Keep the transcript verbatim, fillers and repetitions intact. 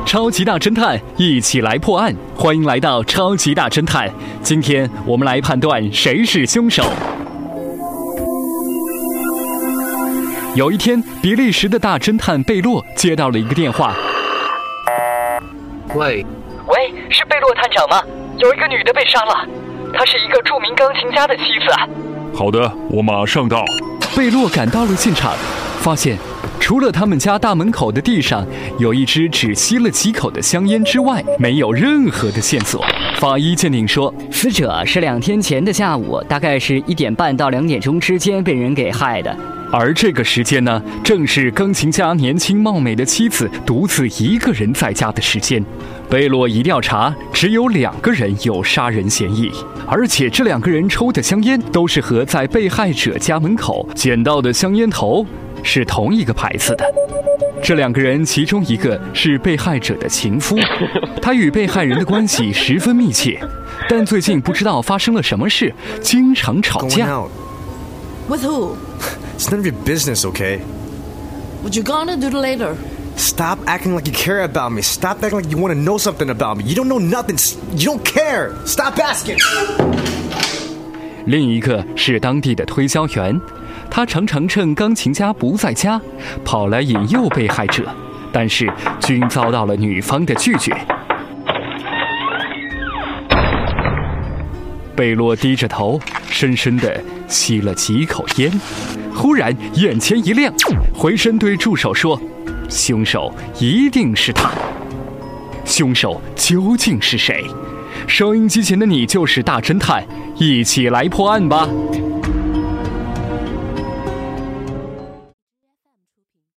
超级大侦探，一起来破案。欢迎来到超级大侦探，今天我们来判断谁是凶手。有一天，比利时的大侦探贝洛接到了一个电话。 喂， 喂，是贝洛探长吗？有一个女的被杀了，她是一个著名钢琴家的妻子。 好的，我马上到。 贝洛赶到了现场，发现除了他们家大门口的地上有一支只吸了几口的香烟之外，没有任何的线索。法医鉴定说， 死者是两天前的下午，大概是一点半到两点钟之间被人给害的。 而这个时间呢，正是钢琴家年轻貌美的妻子独自一个人在家的时间。贝洛一调查，只有两个人有杀人嫌疑，而且这两个人抽的香烟都是和在被害者家门口捡到的香烟头是同一个牌子的。这两个人其中一个是被害者的情夫，他与被害人的关系十分密切，但最近不知道发生了什么事，经常吵架。 With who? It's none of your business, okay? What you gonna do later? Stop acting like you care about me. Stop acting like you want to know something about me. You don't know nothing. You don't care. Stop asking. 另一个是当地的推销员，他常常趁钢琴家不在家，跑来引诱被害者，但是均遭到了女方的拒绝。贝洛低着头，深深地吸了几口烟，忽然眼前一亮，回身对助手说：“凶手一定是他。”凶手究竟是谁？收音机前的你就是大侦探，一起来破案吧。